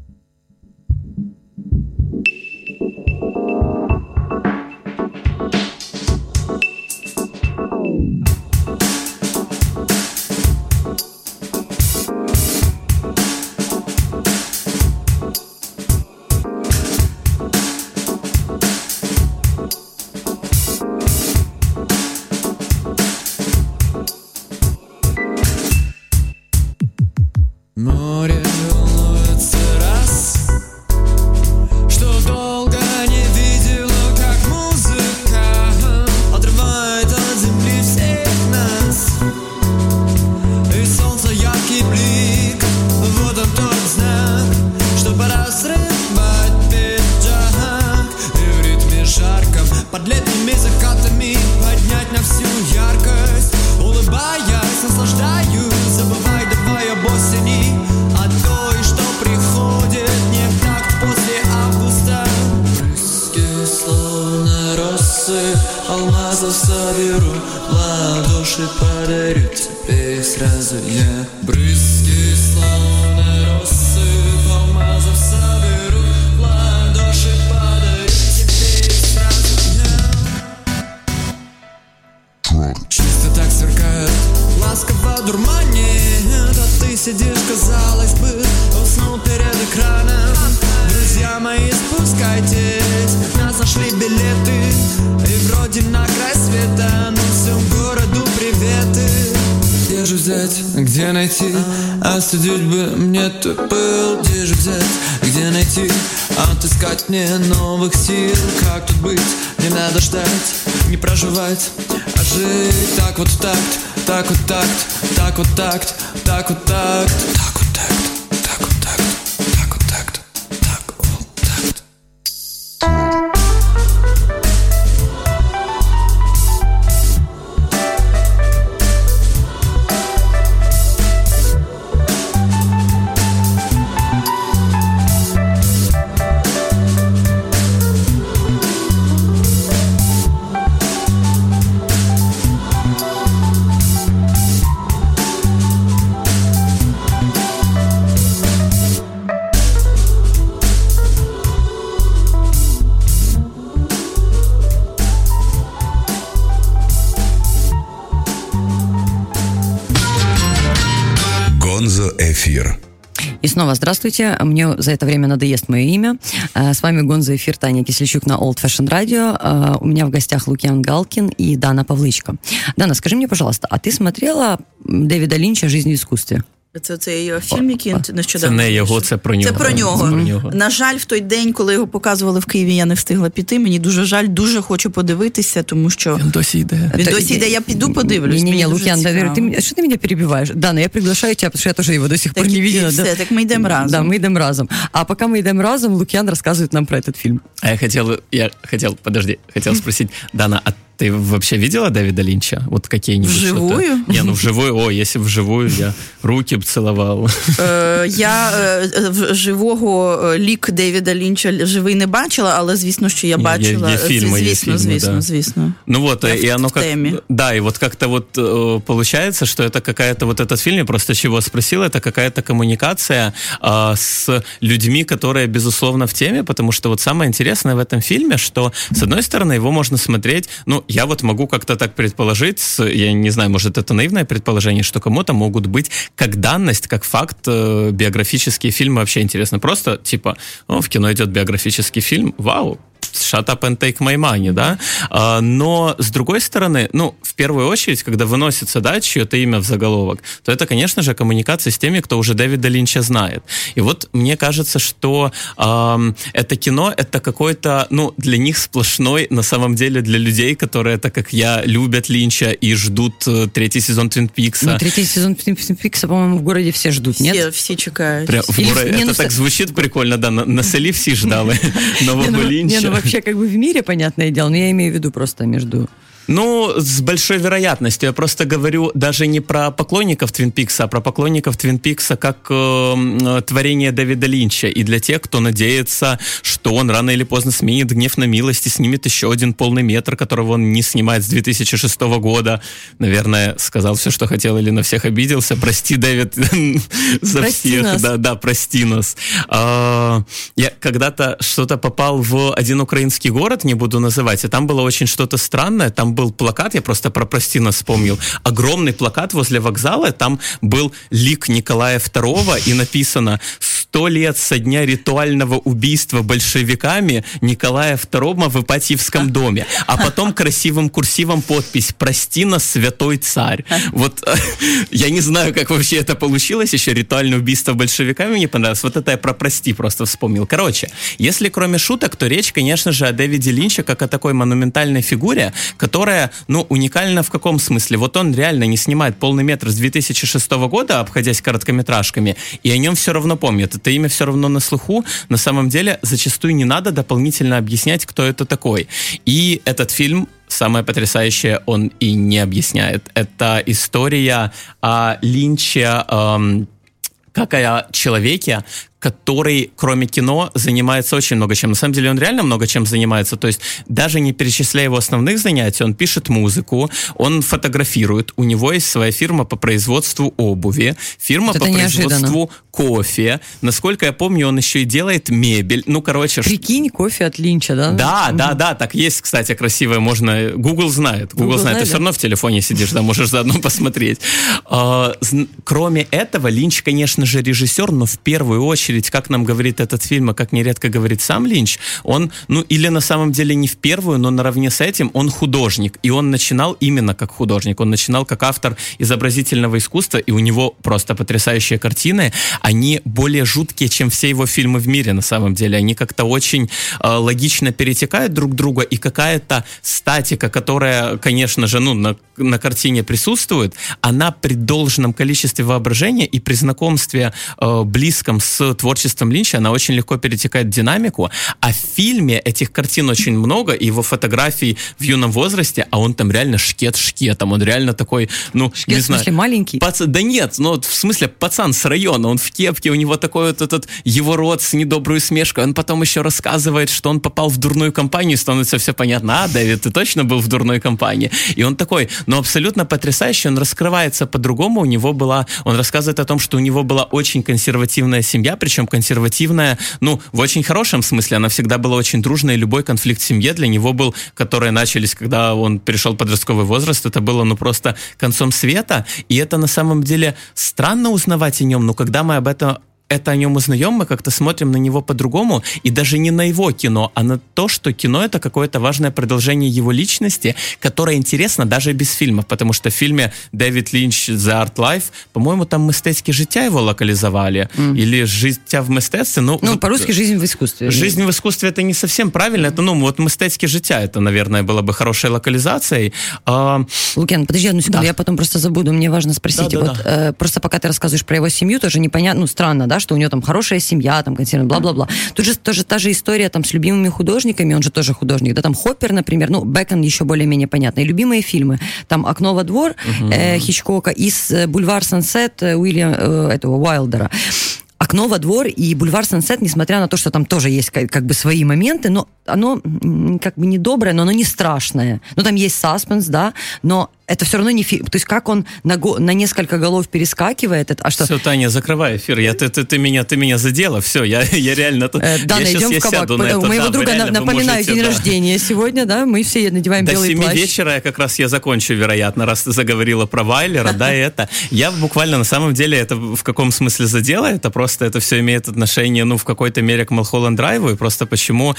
Море волнуется раз, что долго не видела, как музыка отрывает от земли всех нас. И солнце яркий блик, вот он тот знак, что пора срывать пиджак. И в ритме жарком, под летними закатами поднять на всю яркость. Улыбаясь, наслаждаюсь, забывай, давай об осени, о той, что приходит не в такт после августа. Брызги, словно росы, алмазов соберу, ладоши подарю тебе их сразу я. Брызги, словно росы, алмазов соберу, ладоши подарю тебе их сразу я. Чисто так сверкает, ласково дурманит, а ты сидишь, казалось бы, уснул перед экраном. Друзья мои, спускайтесь, нас нашли билеты, и вроде на край света, но всему городу приветы. Где же взять, где найти, остудить бы мне твой пыл? Где же взять, где найти, отыскать мне новых сил? Как тут быть, не надо ждать, не проживать, а жить так вот в такт, так вот такт, так вот такт, так вот такт, так вот такт, так вот такт, так вот такт, так вот такт. Эфир. И снова здравствуйте. Мне за это время надоест мое имя. С вами Гонза Эфир, Таня Кисельчук на Old Fashion Radio. У меня в гостях Лукьян Галкин и Дана Павлычко. Дана, скажи мне, пожалуйста, а ты смотрела Дэвида Линча «Жизнь в искусстве»? Це цей фільм, який нещодавно. Це не його, це про нього. Це про нього. На жаль, в той день, коли його показували в Києві, я не встигла піти. Мені дуже жаль, дуже хочу подивитися, тому що... Він досі йде. Я піду подивлюсь. Не, Лукьян, что ты меня перебиваешь? Да, но я приглашаю тебя, потому что я тоже его до сих пор не видела. Все, так мы идем разом. Да, мы идем разом. А пока мы идем разом, Лукьян рассказывает нам про этот фильм. А я хотел спросить, Дана, а ты вообще видела Дэвида Линча? Вот какие-нибудь вживую? Что-то? Не, вживую. Если вживую, я руки б целовал. Я живого лік Дэвіда Лінча живий не бачила, але звісно, що я бачила. Є фільми, звісно. Ну вот, я и оно как... Да, и вот как-то вот получается, что это какая-то вот этот фильм, я просто чего спросил, это какая-то коммуникация с людьми, которые, безусловно, в теме, потому что вот самое интересное в этом фильме, что, с одной стороны, его можно смотреть, я вот могу как-то так предположить, я не знаю, может, это наивное предположение, что кому-то могут быть как данность, как факт биографические фильмы вообще интересны. Просто, типа, в кино идет биографический фильм, вау, shut up and take my money, да? Но, с другой стороны, в первую очередь, когда выносится, да, чье-то имя в заголовок, то это, конечно же, коммуникация с теми, кто уже Дэвида Линча знает. И вот мне кажется, что это кино, это какой-то, для них сплошной, на самом деле, для людей, которые, так как я, любят Линча и ждут третий сезон Твин Пикса. Третий сезон Твин Пикса, по-моему, в городе все ждут, нет? Все чекают. Это так звучит прикольно, да, на селі всі ждали нового Линча. Вообще, как бы в мире, понятное дело, но я имею в виду просто между... С большой вероятностью. Я просто говорю даже не про поклонников Твин Пикса, а про поклонников Твин Пикса как творение Дэвида Линча. И для тех, кто надеется, что он рано или поздно сменит «Гнев на милость» и снимет еще один полный метр, которого он не снимает с 2006 года. Наверное, сказал все, что хотел, или на всех обиделся. Прости, Дэвид, за всех. Да, прости нас. Я когда-то что-то попал в один украинский город, не буду называть, и там было очень что-то странное. Там был плакат, я просто про «Прости нас» вспомнил, огромный плакат возле вокзала, там был лик Николая II, и написано: 100 лет со дня ритуального убийства большевиками Николая II в Ипатьевском доме. А потом красивым курсивом подпись: «Прости нас, святой царь». Вот я не знаю, как вообще это получилось, еще ритуальное убийство большевиками мне понравилось. Вот это я про «Прости» просто вспомнил. Короче, если кроме шуток, то речь, конечно же, о Дэвиде Линче как о такой монументальной фигуре, которая, уникальна в каком смысле? Вот он реально не снимает полный метр с 2006 года, обходясь короткометражками, и о нем все равно помнят. Это имя все равно на слуху. На самом деле, зачастую не надо дополнительно объяснять, кто это такой. И этот фильм, самое потрясающее, он и не объясняет. Это история о Линче, как о человеке, который, кроме кино, занимается очень много чем. На самом деле он реально много чем занимается. То есть даже не перечисляя его основных занятий, он пишет музыку, он фотографирует, у него есть своя фирма по производству обуви, фирма по производству кофе. Насколько я помню, он еще и делает мебель. Прикинь, кофе от Линча, да? Да, так есть, кстати, красивое. Можно... Google знает. Ты все равно в телефоне сидишь, да, можешь заодно посмотреть. Кроме этого, Линч, конечно же, режиссер, но в первую очередь, как нам говорит этот фильм, а как нередко говорит сам Линч, он, или на самом деле не в первую, но наравне с этим он художник. И он начинал именно как художник. Он начинал как автор изобразительного искусства, и у него просто потрясающие картины. Они более жуткие, чем все его фильмы в мире, на самом деле. Они как-то очень логично перетекают друг друга, и какая-то статика, которая, конечно же, на картине присутствует, она при должном количестве воображения и при знакомстве близком с творчеством Линча, она очень легко перетекает в динамику, а в фильме этих картин очень много, и его фотографий в юном возрасте, а он там реально шкет шкетом, он реально такой, шкет, не знаю, в смысле маленький? Да нет, в смысле пацан с района, он в кепке, у него такой вот этот его рот с недоброй усмешкой, он потом еще рассказывает, что он попал в дурную компанию, становится все понятно: Дэвид, ты точно был в дурной компании? И он такой, абсолютно потрясающий, он раскрывается по-другому, он рассказывает о том, что у него была очень консервативная семья, причем консервативная, в очень хорошем смысле, она всегда была очень дружной, и любой конфликт в семье для него был, которые начались, когда он перешел в подростковый возраст, это было, просто концом света, и это на самом деле странно узнавать о нем, но когда мы об этом это о нем узнаем, мы как-то смотрим на него по-другому, и даже не на его кино, а на то, что кино — это какое-то важное продолжение его личности, которое интересно даже без фильмов, потому что в фильме Дэвид Лінч «The Art Life», по-моему, там «Мистецьке життя» его локализовали, или «Життя в мистецтве». Ну, вот, по-русски «Жизнь в искусстве». «Жизнь в искусстве» — это не совсем правильно, это, ну, вот «Мистецьке життя» — это, наверное, было бы хорошей локализацией. Лукьян, подожди одну секунду, я потом просто забуду, мне важно спросить. Просто пока ты рассказываешь про его семью, тоже непонятно, ну, странно, да, что у него там хорошая семья, там, бла-бла-бла. Тут же тоже та же история там с любимыми художниками, он же тоже художник, да, там Хоппер, например, ну, Бэкон еще более-менее понятно, и любимые фильмы, там «Окно во двор» Хичкока и «Бульвар Сансет» этого Уайлдера. «Окно во двор» и «Бульвар Сансет», несмотря на то, что там тоже есть как бы свои моменты, но оно как бы не доброе, но оно не страшное. Ну, там есть саспенс, да, но это все равно не фильм. То есть как он на несколько голов перескакивает. А что? Все, Таня, закрывай эфир. Ты меня задела. Все, я реально... Дана, идем в кабак. У моего друга, напоминаю, день рождения сегодня, да, мы все надеваем белый плащ. До 7 вечера я закончу, вероятно, раз ты заговорила про Вайлера, да, и это. Я буквально, на самом деле, это в каком смысле задела? Это просто, это все имеет отношение, ну, в какой-то мере к Малхолланд Драйву, и просто почему...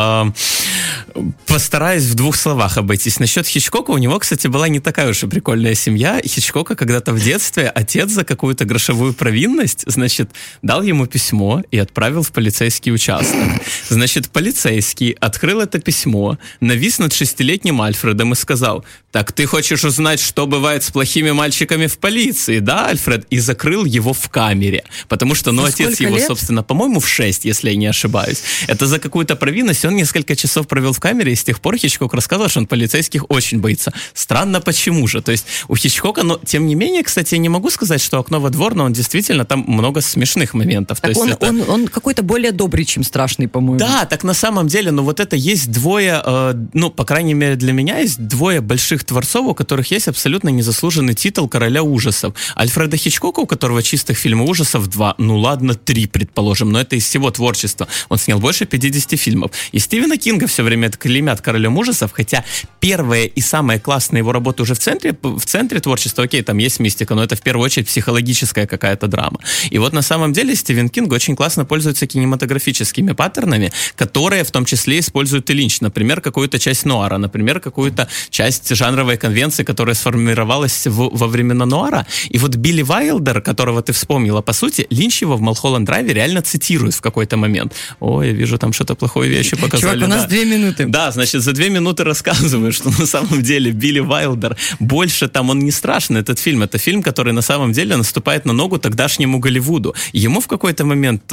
Постараюсь в 2 словах обойтись. Насчет Хичкока, у него, кстати, была не такая уж и прикольная семья. Хичкока когда-то в детстве отец за какую-то грошовую провинность, значит, дал ему письмо и отправил в полицейский участок. Значит, полицейский открыл это письмо, навис над 6-летним Альфредом и сказал: «Так ты хочешь узнать, что бывает с плохими мальчиками в полиции, да, Альфред?» И закрыл его в камере. Потому что, ну, отец его, собственно, по-моему, в 6, если я не ошибаюсь. Это за какую-то провинность. Он несколько часов провел в камере, и с тех пор Хичкок рассказывал, что он полицейских очень боится. Странно, почему же? То есть у Хичкока, но тем не менее, кстати, я не могу сказать, что «Окно во двор», но он действительно, там много смешных моментов. Так то есть он какой-то более добрый, чем страшный, по-моему. Да, так на самом деле, ну вот это есть двое, ну, по крайней мере для меня, есть двое больших творцов, у которых есть абсолютно незаслуженный титул короля ужасов. Альфреда Хичкока, у которого чистых фильмов ужасов 2, ну ладно, 3, предположим, но это из всего творчества. Он снял больше 50 фильмов. И Стивена Кинга все время клеймят королем ужасов, хотя первая и самая классная его работа уже в центре творчества, окей, там есть мистика, но это в первую очередь психологическая какая-то драма. И вот на самом деле Стивен Кинг очень классно пользуется кинематографическими паттернами, которые в том числе использует и Линч. Например, какую-то часть нуара, например, какую-то часть жанровой конвенции, которая сформировалась во времена нуара. И вот Билли Вайлдер, которого ты вспомнила, по сути, Линч его в Малхолланд Драйве реально цитирует в какой-то момент. Ой, я вижу, там что-то плохое вещи показали. Чувак, у нас 2 минуты. Да, значит, за 2 минуты рассказываю, что на самом деле Билли Вайлдер больше там, он не страшный, этот фильм. Это фильм, который на самом деле наступает на ногу тогдашнему Голливуду. Ему в какой-то момент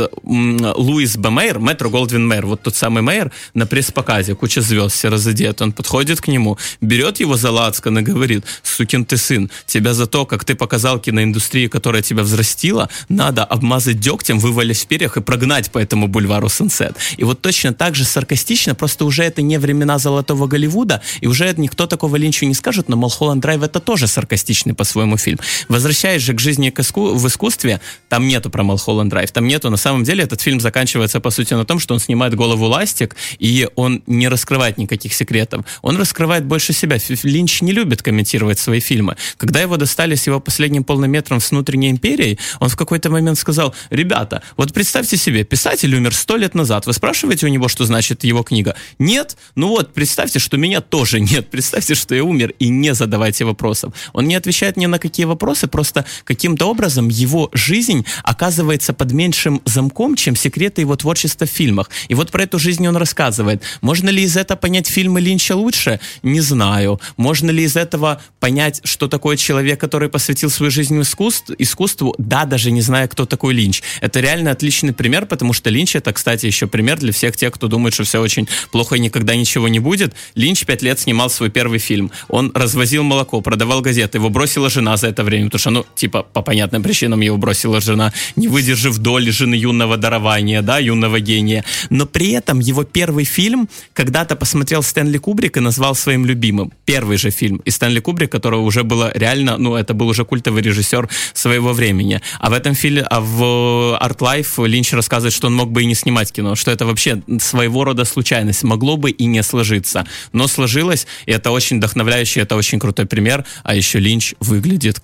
Луис Б. Мейер, Метро Голдвин Мейер, вот тот самый Мейер, на пресс-показе, куча звезд, все разодеты, он подходит к нему, берет его за лацкан и говорит: «Сукин ты сын, тебя за то, как ты показал киноиндустрии, которая тебя взрастила, надо обмазать дегтем, вывалить в перьях и прогнать по этому бульвару Сансет». И вот точно так же саркастично, просто уже это не времена золотого Голливуда, и уже никто такого Линчу не скажет, но Малхолланд Драйв — это тоже саркастичный по-своему фильм. Возвращаясь же к жизни в искусстве, там нету про Малхолланд Драйв, там нету, на самом деле этот фильм заканчивается по сути на том, что он снимает голову ластик, и он не раскрывает никаких секретов. Он раскрывает больше себя. Линч не любит комментировать свои фильмы. Когда его достали с его последним полным метром с внутренней империей, он в какой-то момент сказал: «Ребята, вот представьте себе, писатель умер 100 лет назад, вы спрашиваете у него, что значит его книга? Нет? Ну вот, представьте, что меня тоже нет. Представьте, что я умер, и не задавайте вопросов». Он не отвечает ни на какие вопросы, просто каким-то образом его жизнь оказывается под меньшим замком, чем секреты его творчества в фильмах. И вот про эту жизнь он рассказывает. Можно ли из этого понять фильмы Линча лучше? Не знаю. Можно ли из этого понять, что такое человек, который посвятил свою жизнь искусству? Да, даже не зная, кто такой Линч. Это реально отличный пример, потому что Линч — это, кстати, еще пример для всех тех, кто думает, что все очень плохо и никогда ничего не будет. Линч 5 лет снимал свой первый фильм. Он развозил молоко, продавал газеты. Его бросила жена за это время, потому что, ну, типа, по понятным причинам его бросила жена, не выдержав доли жены юного дарования, да, юного гения. Но при этом его первый фильм когда-то посмотрел Стэнли Кубрик и назвал своим любимым. Первый же фильм. И Стэнли Кубрик, которого уже было реально, ну, это был уже культовый режиссер своего времени. А в этом фильме, в Art Life Линч рассказывает, что он мог бы и не снимать кино, что это вообще своего рода случайность. Могло бы и не сложиться. Но сложилось, и это очень вдохновляющий, это очень крутой пример. А еще Линч выглядит как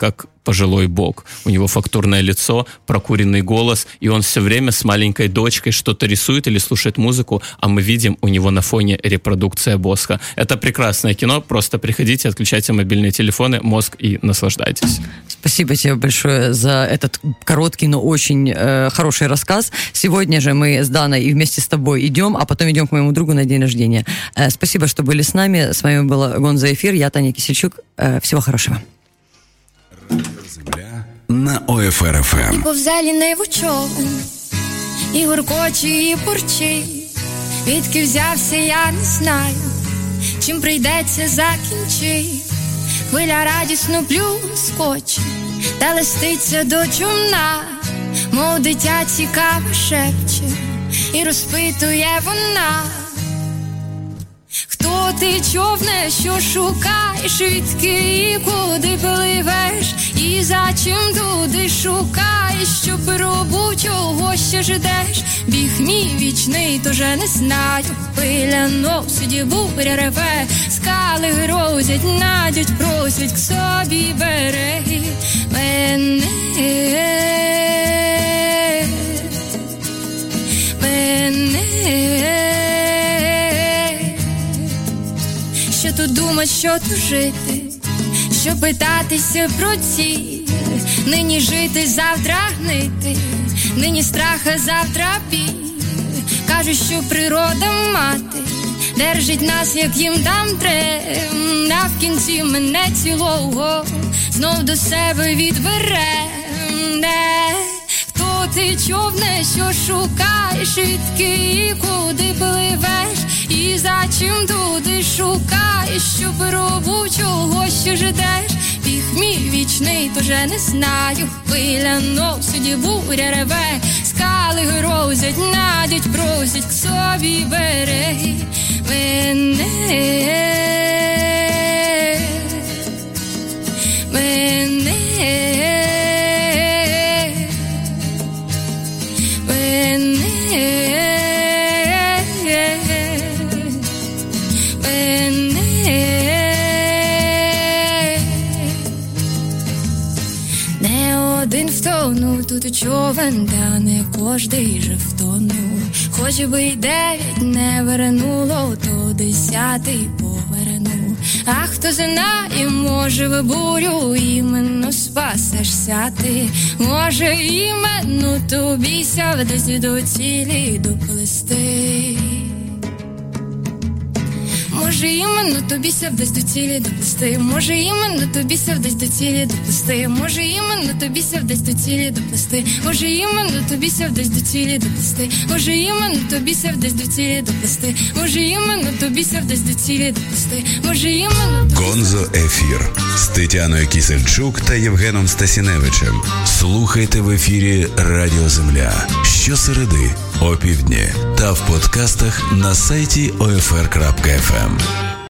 пожилой бог. У него фактурное лицо, прокуренный голос, и он все время с маленькой дочкой что-то рисует или слушает музыку, а мы видим у него на фоне репродукция Босха. Это прекрасное кино, просто приходите, отключайте мобильные телефоны, мозг и наслаждайтесь. Спасибо тебе большое за этот короткий, но очень хороший рассказ. Сегодня же мы с Даной и вместе с тобой идем, а потом идем к моему другу на день рождения. Спасибо, что были с нами. С вами была Гонза Эфир, я Таня Кисельчук. Всего хорошего. На ОФР ФМ. І повзеліний човен, і гуркоче, і бурчить. Відки взявся, я не знаю, чим прийдеться закінчить. Хвиля радісно плюскоче, та листиться до човна, мов дитя цікаво шепче, і розпитує вона. Хто ти, човне, що шукаєш, відки і куди пливеш, і за чим туди шукаєш, що пробу чого ще ждеш? Біг мій вічний, тоже не знаю, хвиля носить, буря реве, скали грозять, надять, просять к собі береги мене. Що тут думать, що тут жити, що питатися про ціль, нині жити, завтра гнити, нині страха, завтра біль. Кажуть, що природа мати держить нас, як їм там треба, а в кінці мене цілого знов до себе відбере. Хто ти, човне, що шукаєш, відки і куди пливеш, і за чим туди шукаєш, що пробу чого ще ждеш? Біг мій вічний, тоже не знаю, хвиля носить, буря реве, скали грозять, надять, просять к собі береги мене. Тут човен, та не кожний же втонув. Хоч би й 9 не вернуло, то 10 повернув. А хто знає, може в бурю іменно спасешся ти. Може іменно тобі ся десь до цілі доплисти. Може іменно тобі ся десь до цілі доплисти. Може іменно тобі ся десь до цілі доплисти. Може іменно тобі ся десь до цілі доплисти. Може іменно тобі ся десь до цілі доплисти. Може іменно тобі ся десь до цілі доплисти. Може іменно тобі ся десь до цілі доплисти. Може іменно Гонзо Ефір з Тетяною Кисельчук та Євгеном Стасіневичем. Слухайте в ефірі Радіо Земля щосереди о півдні та в подкастах на сайті OFR.FM.